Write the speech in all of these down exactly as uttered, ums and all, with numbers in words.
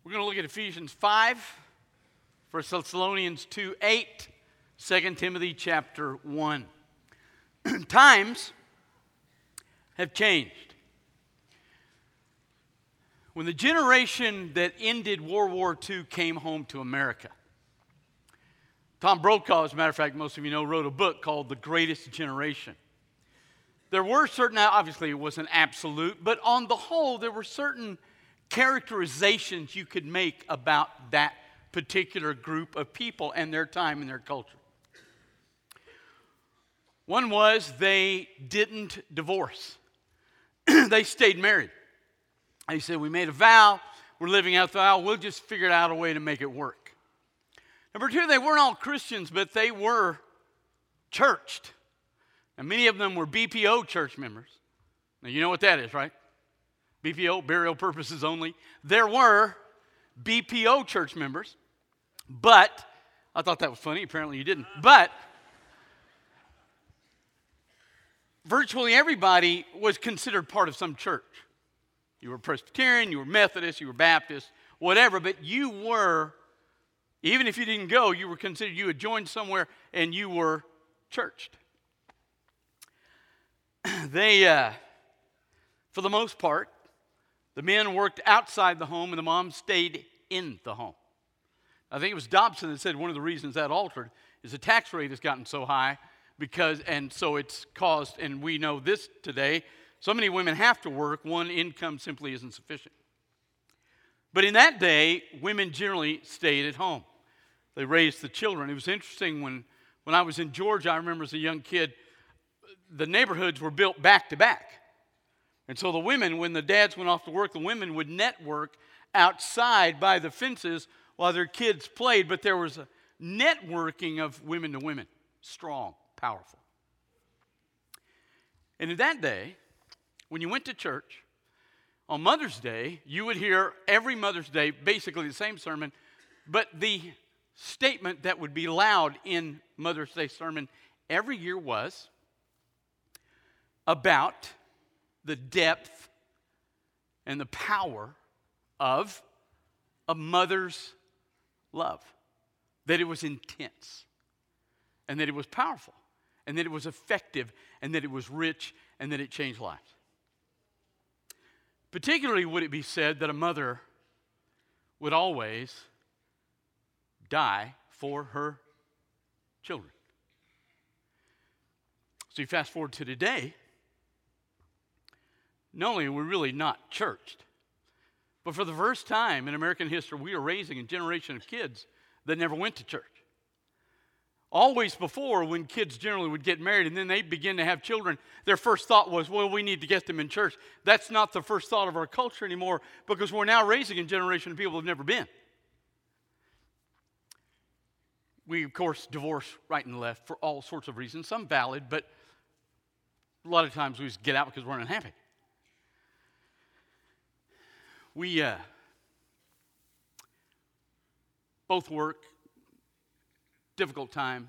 We're going to look at Ephesians five, First Thessalonians two eight, Second Timothy chapter one. Times have changed. When the generation that ended World War Two came home to America, Tom Brokaw, as a matter of fact, most of you know, wrote a book called The Greatest Generation. There were certain, obviously it wasn't absolute, but on the whole, there were certain characterizations you could make about that particular group of people and their time and their culture. One was they didn't divorce. They stayed married. They said, we made a vow, we're living out the vow, we'll just figure out a way to make it work. Number two, they weren't all Christians, but they were churched. And many of them were B P O church members. Now, you know what that is, right? B P O, burial purposes only. There were B P O church members, but, I thought that was funny, apparently you didn't, but virtually everybody was considered part of some church. You were Presbyterian, you were Methodist, you were Baptist, whatever, but you were, even if you didn't go, you were considered, you had joined somewhere and you were churched. They, uh, for the most part, the men worked outside the home and the moms stayed in the home. I think it was Dobson that said one of the reasons that altered is the tax rate has gotten so high because, and so it's caused, and we know this today, so many women have to work, one income simply isn't sufficient. But in that day, women generally stayed at home. They raised the children. It was interesting when, when I was in Georgia, I remember as a young kid, the neighborhoods were built back to back. And so the women, when the dads went off to work, the women would network outside by the fences while their kids played. But there was a networking of women to women, strong, powerful. And in that day, when you went to church, on Mother's Day, you would hear every Mother's Day basically the same sermon, but the statement that would be loud in Mother's Day sermon every year was about the depth and the power of a mother's love. That it was intense, and that it was powerful, and that it was effective, and that it was rich, and that it changed lives. Particularly would it be said that a mother would always die for her children. So you fast forward to today, not only are we really not churched, but for the first time in American history, we are raising a generation of kids that never went to church. Always before, when kids generally would get married and then they begin to have children, their first thought was, well, we need to get them in church. That's not the first thought of our culture anymore because we're now raising a generation of people who have never been. We, of course, divorce right and left for all sorts of reasons, some valid, but a lot of times we just get out because we're unhappy. We uh, both work. Difficult time.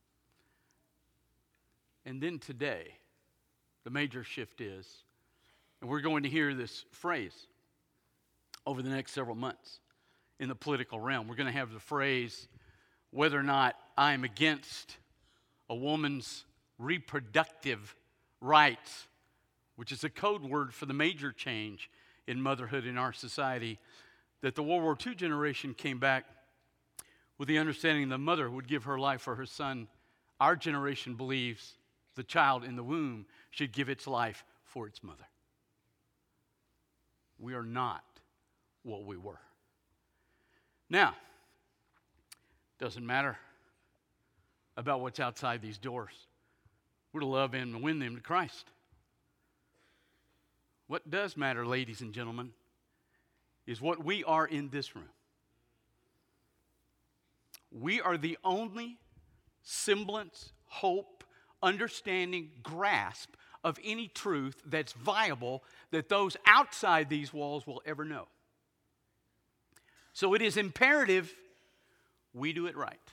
And then today, the major shift is, and we're going to hear this phrase over the next several months in the political realm. We're going to have the phrase, whether or not I'm against a woman's reproductive rights, which is a code word for the major change in motherhood in our society, that the World War Two generation came back with the understanding the mother would give her life for her son. Our generation believes the child in the womb should give its life for its mother. We are not what we were. Now, doesn't matter about what's outside these doors. We're to love them and win them to Christ. What does matter, ladies and gentlemen, is what we are in this room. We are the only semblance, hope, understanding, grasp of any truth that's viable that those outside these walls will ever know. So it is imperative we do it right.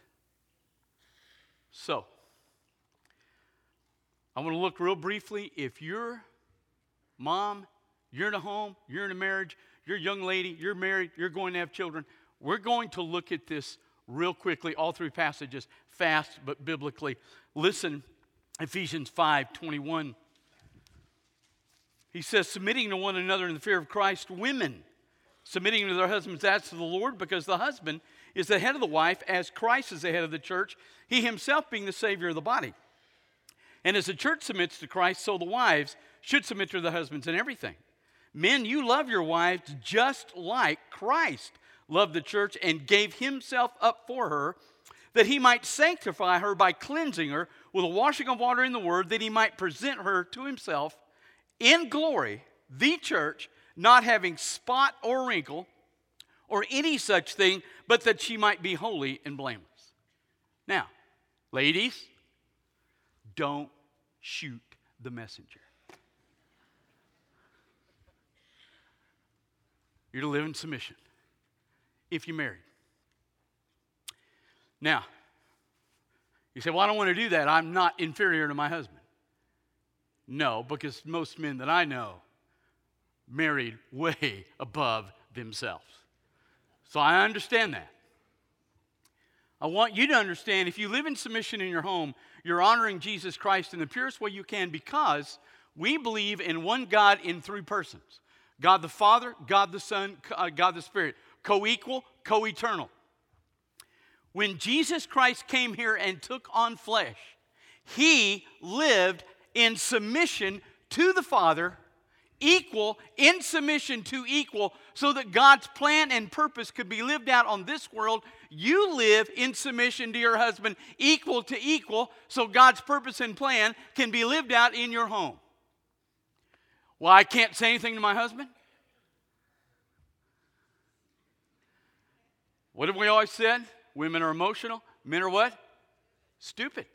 So, I want to look real briefly. If your mom, you're in a home, you're in a marriage, you're a young lady, you're married, you're going to have children. We're going to look at this real quickly, all three passages, fast but biblically. Listen, Ephesians five twenty-one. He says, submitting to one another in the fear of Christ, women submitting to their husbands as to the Lord, because the husband is the head of the wife, as Christ is the head of the church, he himself being the Savior of the body. And as the church submits to Christ, so the wives should submit to their husbands in everything. Men, you love your wives just like Christ loved the church and gave himself up for her, that he might sanctify her by cleansing her with a washing of water in the word, that he might present her to himself in glory, the church, not having spot or wrinkle or any such thing, but that she might be holy and blameless. Now, ladies, don't shoot the messenger. You're to live in submission if you're married. Now, you say, well, I don't want to do that. I'm not inferior to my husband. No, because most men that I know married way above themselves. So I understand that. I want you to understand, if you live in submission in your home, you're honoring Jesus Christ in the purest way you can, because we believe in one God in three persons. God the Father, God the Son, uh, God the Spirit. Co-equal, co-eternal. When Jesus Christ came here and took on flesh, he lived in submission to the Father, equal in submission to equal, so that God's plan and purpose could be lived out on this world. You live in submission to your husband, equal to equal, so God's purpose and plan can be lived out in your home. Well, I can't say anything to my husband? What have we always said? Women are emotional. Men are what? Stupid.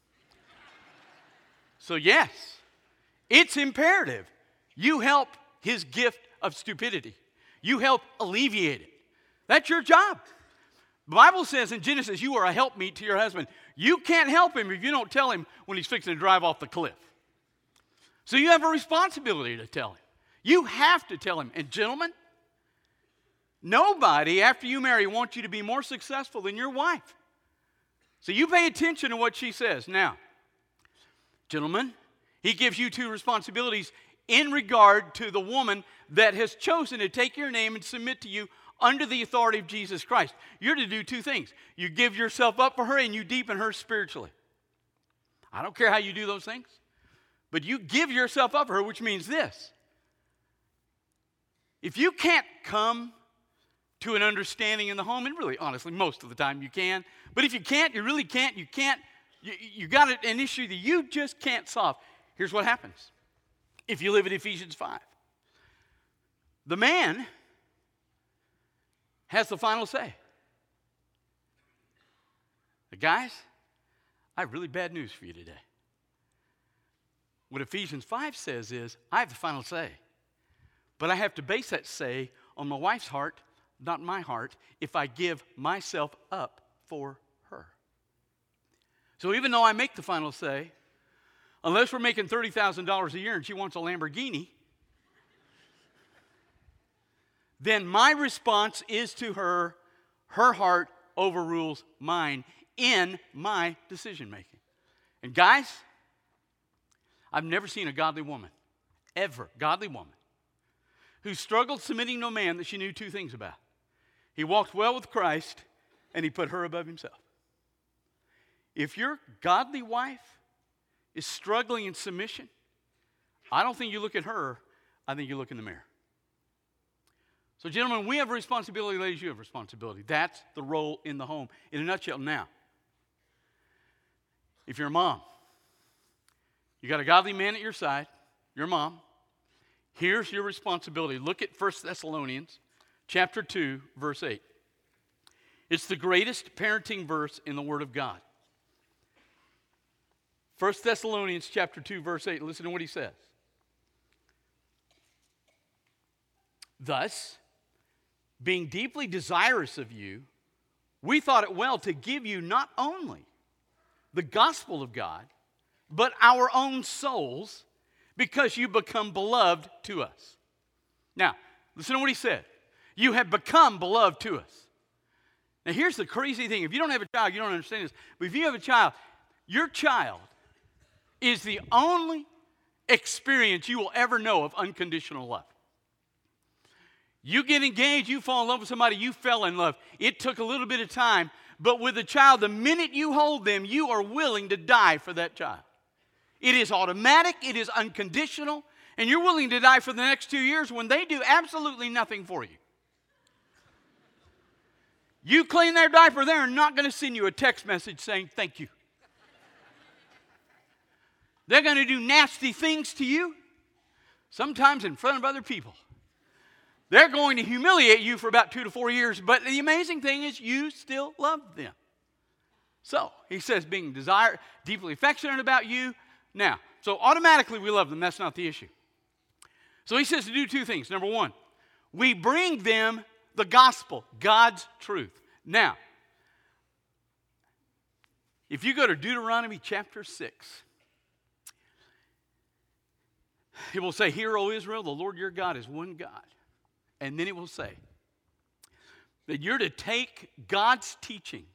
So yes, it's imperative you help his gift of stupidity. You help alleviate it. That's your job. The Bible says in Genesis, you are a helpmeet to your husband. You can't help him if you don't tell him when he's fixing to drive off the cliff. So you have a responsibility to tell him. You have to tell him. And gentlemen, nobody after you marry wants you to be more successful than your wife. So you pay attention to what she says. Now, gentlemen, he gives you two responsibilities in regard to the woman that has chosen to take your name and submit to you under the authority of Jesus Christ. You're to do two things. You give yourself up for her and you deepen her spiritually. I don't care how you do those things, but you give yourself up for her, which means this. If you can't come to an understanding in the home, and really, honestly, most of the time you can, but if you can't, you really can't, you can't, you, you got an issue that you just can't solve. Here's what happens. If you live in Ephesians five, the man has the final say. But guys, I have really bad news for you today. What Ephesians five says is, I have the final say. But I have to base that say on my wife's heart, not my heart, if I give myself up for her. So even though I make the final say, unless we're making thirty thousand dollars a year and she wants a Lamborghini, then my response is to her, her heart overrules mine in my decision making. And guys, I've never seen a godly woman, ever, godly woman, who struggled submitting to a man that she knew two things about. He walked well with Christ, and he put her above himself. If your godly wife is struggling in submission, I don't think you look at her, I think you look in the mirror. So gentlemen, we have a responsibility, ladies, you have a responsibility. That's the role in the home. In a nutshell, now, if you're a mom, you got a godly man at your side, your mom, here's your responsibility. Look at First Thessalonians chapter two, verse eight. It's the greatest parenting verse in the Word of God. First Thessalonians chapter two, verse eight. Listen to what he says. Thus, being deeply desirous of you, we thought it well to give you not only the gospel of God, but our own souls, because you become beloved to us. Now, listen to what he said. You have become beloved to us. Now, here's the crazy thing. If you don't have a child, you don't understand this. But if you have a child, your child is the only experience you will ever know of unconditional love. You get engaged, you fall in love with somebody, you fell in love. It took a little bit of time, but with a child, the minute you hold them, you are willing to die for that child. It is automatic, it is unconditional, and you're willing to die for the next two years when they do absolutely nothing for you. You clean their diaper, they're not going to send you a text message saying thank you. They're going to do nasty things to you, sometimes in front of other people. They're going to humiliate you for about two to four years, but the amazing thing is you still love them. So, he says being desire, deeply affectionate about you. Now, so automatically we love them. That's not the issue. So he says to do two things. Number one, we bring them the gospel, God's truth. Now, if you go to Deuteronomy chapter six, it will say, "Hear, O Israel, the Lord your God is one God." And then it will say that you're to take God's teachings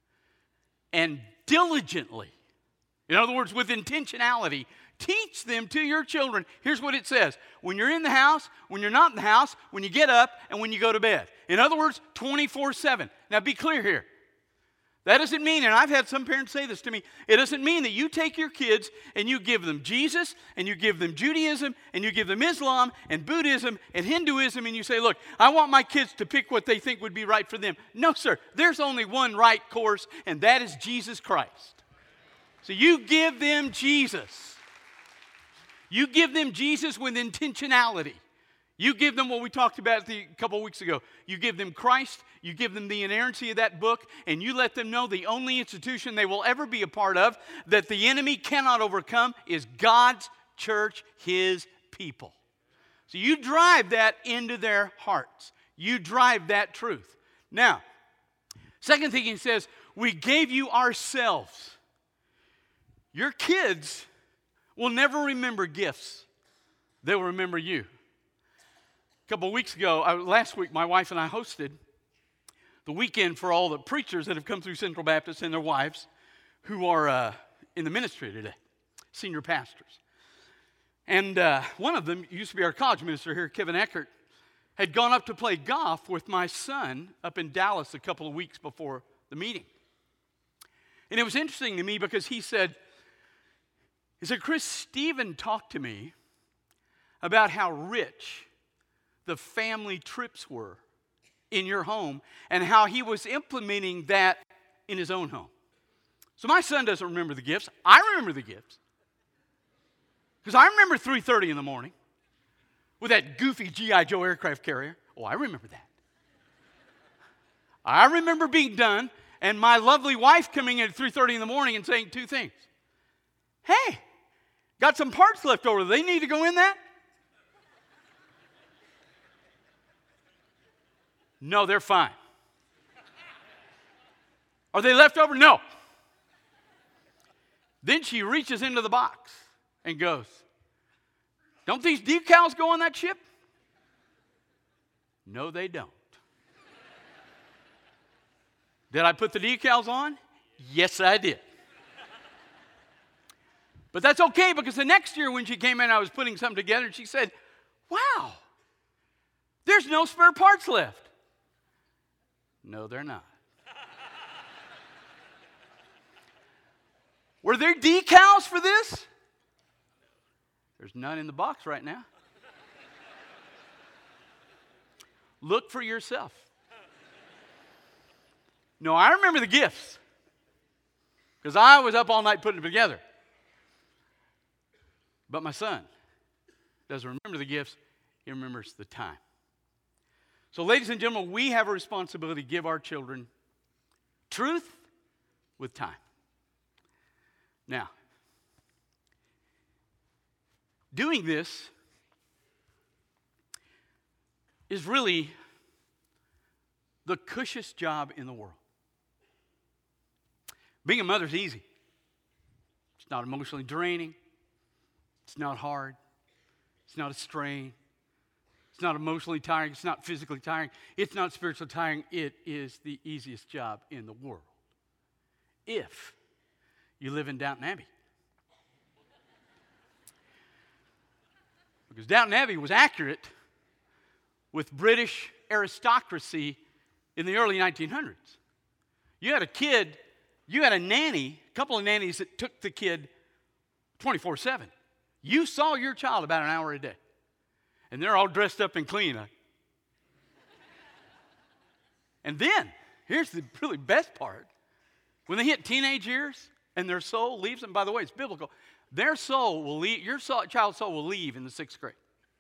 and diligently, in other words, with intentionality, teach them to your children. Here's what it says. When you're in the house, when you're not in the house, when you get up, and when you go to bed. In other words, twenty-four seven. Now be clear here. That doesn't mean, and I've had some parents say this to me, it doesn't mean that you take your kids and you give them Jesus, and you give them Judaism, and you give them Islam, and Buddhism, and Hinduism, and you say, look, I want my kids to pick what they think would be right for them. No, sir. There's only one right course, and that is Jesus Christ. So you give them Jesus. You give them Jesus with intentionality. You give them what we talked about a couple of weeks ago. You give them Christ, you give them the inerrancy of that book, and you let them know the only institution they will ever be a part of that the enemy cannot overcome is God's church, his people. So you drive that into their hearts. You drive that truth. Now, second thing he says, we gave you ourselves. Your kids will never remember gifts. They'll remember you. A couple of weeks ago, uh, last week, my wife and I hosted the weekend for all the preachers that have come through Central Baptist and their wives who are uh, in the ministry today, senior pastors. And uh, one of them used to be our college minister here, Kevin Eckert, had gone up to play golf with my son up in Dallas a couple of weeks before the meeting. And it was interesting to me because he said, he said, Chris, Stephen talked to me about how rich the family trips were in your home and how he was implementing that in his own home. So my son doesn't remember the gifts. I remember the gifts. Because I remember three thirty in the morning with that goofy G I Joe aircraft carrier. Oh, I remember that. I remember being done and my lovely wife coming in at three thirty in the morning and saying two things. Hey, got some parts left over. Do they need to go in that? No, they're fine. Are they left over? No. Then she reaches into the box and goes, don't these decals go on that ship? No, they don't. Did I put the decals on? Yes, I did. But that's okay because the next year when she came in, I was putting something together and she said, wow, there's no spare parts left. No, they're not. Were there decals for this? There's none in the box right now. Look for yourself. No, I remember the gifts because I was up all night putting them together. But my son doesn't remember the gifts, he remembers the time. So, ladies and gentlemen, we have a responsibility to give our children truth with time. Now, doing this is really the cushest job in the world. Being a mother is easy. It's not emotionally draining. It's not hard. It's not a strain. It's not emotionally tiring. It's not physically tiring. It's not spiritually tiring. It is the easiest job in the world. If you live in Downton Abbey. Because Downton Abbey was accurate with British aristocracy in the early nineteen hundreds. You had a kid, you had a nanny, a couple of nannies that took the kid twenty-four seven. You saw your child about an hour a day. And they're all dressed up and clean. And then, here's the really best part. When they hit teenage years and their soul leaves them, by the way, it's biblical, their soul will leave, your soul, child's soul will leave in the sixth grade.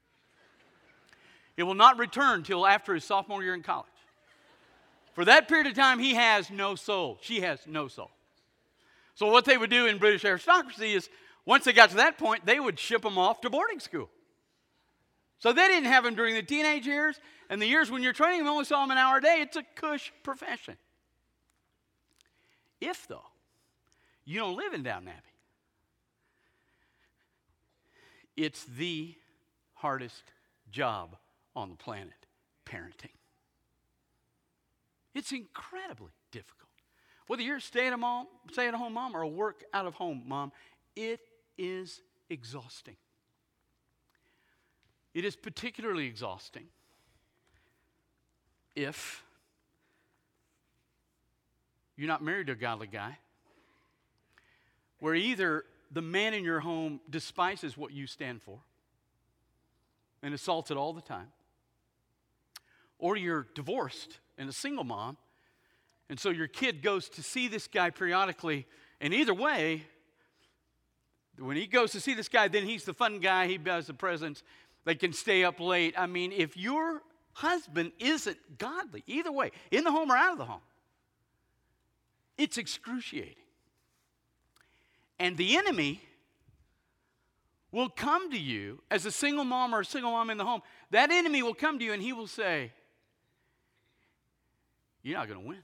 It will not return till after his sophomore year in college. For that period of time, he has no soul. She has no soul. So what they would do in British aristocracy is, once they got to that point, they would ship them off to boarding school. So they didn't have them during the teenage years, and the years when you're training them only saw them an hour a day. It's a cush profession. If, though, you don't live in Downton Abbey, it's the hardest job on the planet, parenting. It's incredibly difficult. Whether you're a stay-at-home mom, stay-at-home mom or a work-out-of-home mom, it is exhausting. It is particularly exhausting if you're not married to a godly guy, where either the man in your home despises what you stand for and assaults it all the time, or you're divorced and a single mom, and so your kid goes to see this guy periodically, and either way, when he goes to see this guy, then he's the fun guy, he does the presents, they can stay up late. I mean, if your husband isn't godly, either way, in the home or out of the home, it's excruciating. And the enemy will come to you as a single mom or a single mom in the home. That enemy will come to you and he will say, you're not going to win.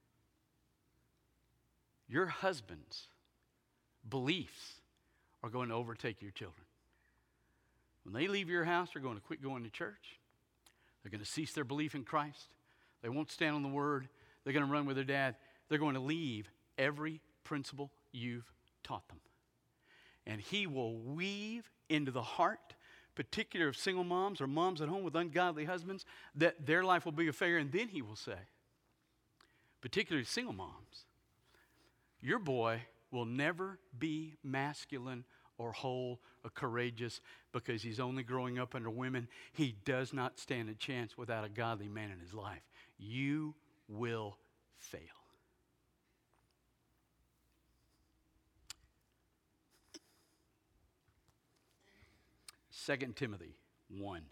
Your husband's beliefs are going to overtake your children. When they leave your house, they're going to quit going to church. They're going to cease their belief in Christ. They won't stand on the word. They're going to run with their dad. They're going to leave every principle you've taught them. And he will weave into the heart, particularly of single moms or moms at home with ungodly husbands, that their life will be a failure. And then he will say, particularly single moms, your boy will never be masculine or whole or courageous because he's only growing up under women. He does not stand a chance without a godly man in his life. You will fail. Second Timothy one.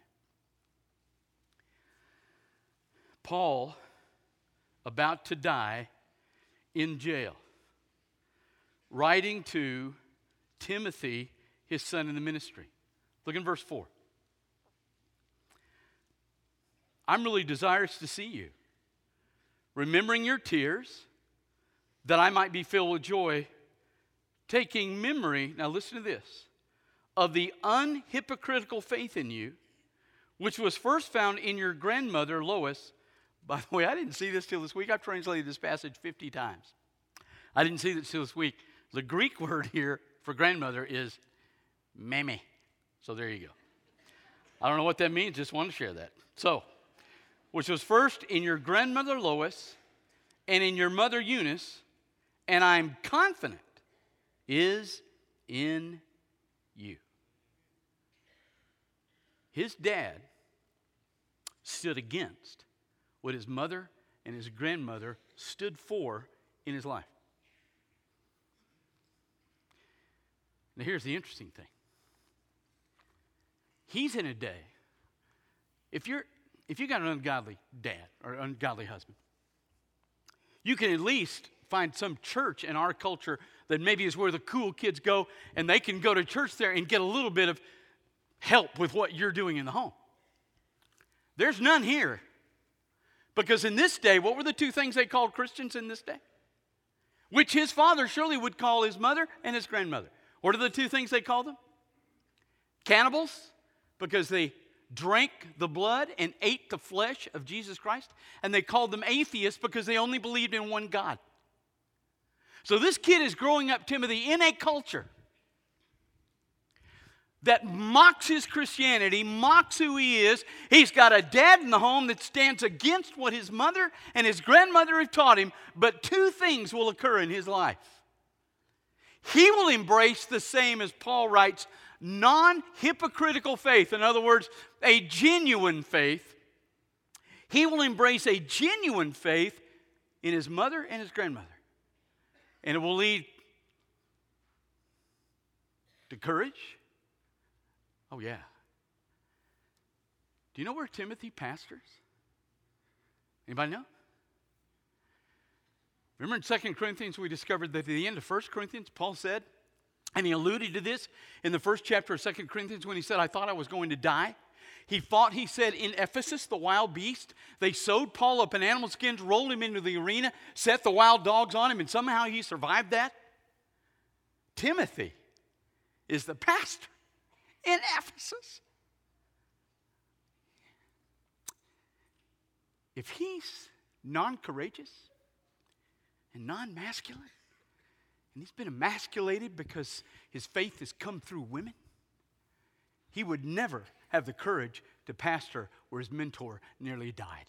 Paul, about to die in jail, writing to Timothy, his son in the ministry. Look in verse four. I'm really desirous to see you, remembering your tears, that I might be filled with joy, taking memory, now listen to this, of the unhypocritical faith in you, which was first found in your grandmother Lois. By the way, I didn't see this till this week. I've translated this passage fifty times. I didn't see this till this week. The Greek word here for grandmother is meme. So there you go. I don't know what that means. Just want to share that. So, which was first in your grandmother Lois and in your mother Eunice, and I'm confident is in you. His dad stood against what his mother and his grandmother stood for in his life. Now here's the interesting thing. He's in a day, if you're if you got an ungodly dad or ungodly husband, you can at least find some church in our culture that maybe is where the cool kids go, and they can go to church there and get a little bit of help with what you're doing in the home. There's none here. Because in this day, what were the two things they called Christians in this day? Which his father surely would call his mother and his grandmother. What are the two things they called them? Cannibals, because they drank the blood and ate the flesh of Jesus Christ, and they called them atheists because they only believed in one God. So this kid is growing up, Timothy, in a culture that mocks his Christianity, mocks who he is. He's got a dad in the home that stands against what his mother and his grandmother have taught him, but two things will occur in his life. He will embrace the same, as Paul writes, non-hypocritical faith. In other words, a genuine faith. He will embrace a genuine faith in his mother and his grandmother. And it will lead to courage. Oh, yeah. Do you know where Timothy pastors? Anybody know? Remember in Second Corinthians, we discovered that at the end of First Corinthians, Paul said, and he alluded to this in the first chapter of Second Corinthians when he said, I thought I was going to die. He fought, he said, in Ephesus, the wild beast. They sewed Paul up in animal skins, rolled him into the arena, set the wild dogs on him, and somehow he survived that. Timothy is the pastor in Ephesus. If he's non-courageous and non-masculine, and he's been emasculated because his faith has come through women, he would never have the courage to pastor where his mentor nearly died.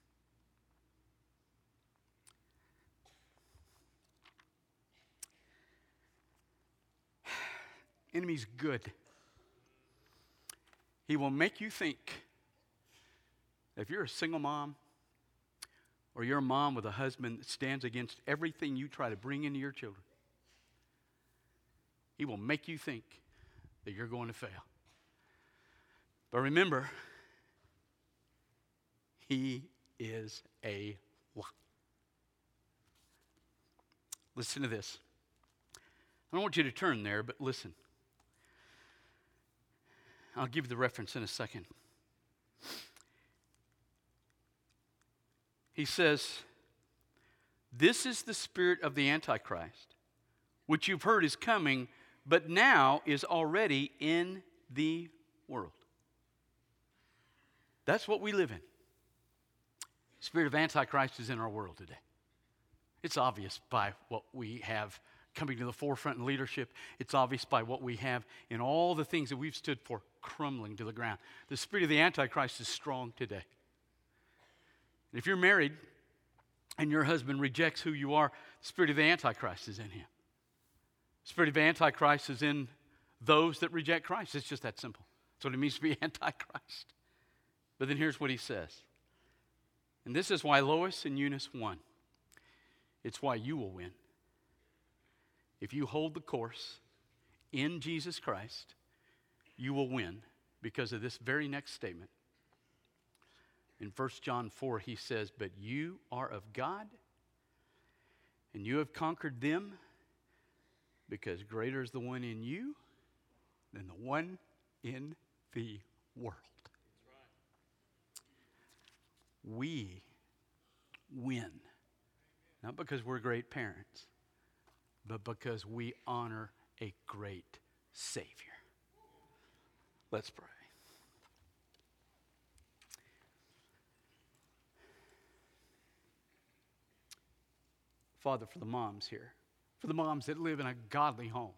Enemy's good. He will make you think that if you're a single mom or you're a mom with a husband that stands against everything you try to bring into your children, he will make you think that you're going to fail. But remember, he is a lie. Listen to this. I don't want you to turn there, but listen. I'll give you the reference in a second. He says, this is the spirit of the Antichrist, which you've heard is coming, but now is already in the world. That's what we live in. The spirit of Antichrist is in our world today. It's obvious by what we have coming to the forefront in leadership. It's obvious by what we have in all the things that we've stood for crumbling to the ground. The spirit of the Antichrist is strong today. And if you're married and your husband rejects who you are, the spirit of the Antichrist is in him. The spirit of Antichrist is in those that reject Christ. It's just that simple. That's what it means to be Antichrist. But then here's what he says. And this is why Lois and Eunice won. It's why you will win. If you hold the course in Jesus Christ, you will win because of this very next statement. In First John four, he says, but you are of God, and you have conquered them, because greater is the one in you than the one in the world. We win, not because we're great parents, but because we honor a great Savior. Let's pray. Father, for the moms here, for the moms that live in a godly home,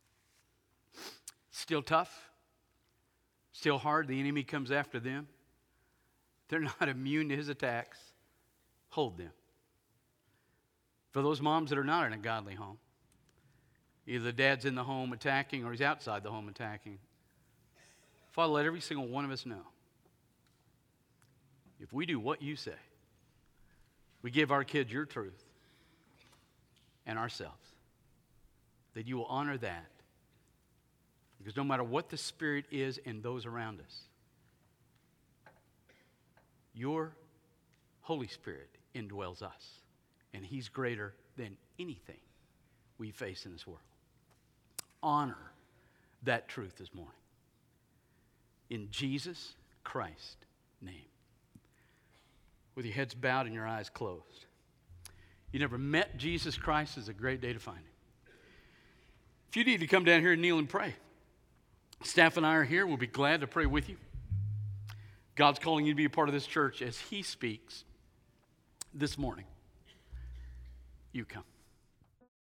still tough, still hard, the enemy comes after them. They're not immune to his attacks. Hold them. For those moms that are not in a godly home, either the dad's in the home attacking or he's outside the home attacking, Father, let every single one of us know, if we do what you say, we give our kids your truth and ourselves, that you will honor that. Because no matter what the Spirit is in those around us, your Holy Spirit indwells us, and he's greater than anything we face in this world. Honor that truth this morning. In Jesus Christ's name. With your heads bowed and your eyes closed. You never met Jesus Christ, it's a great day to find him. If you need to come down here and kneel and pray, staff and I are here. We'll be glad to pray with you. God's calling you to be a part of this church as He speaks this morning. You come.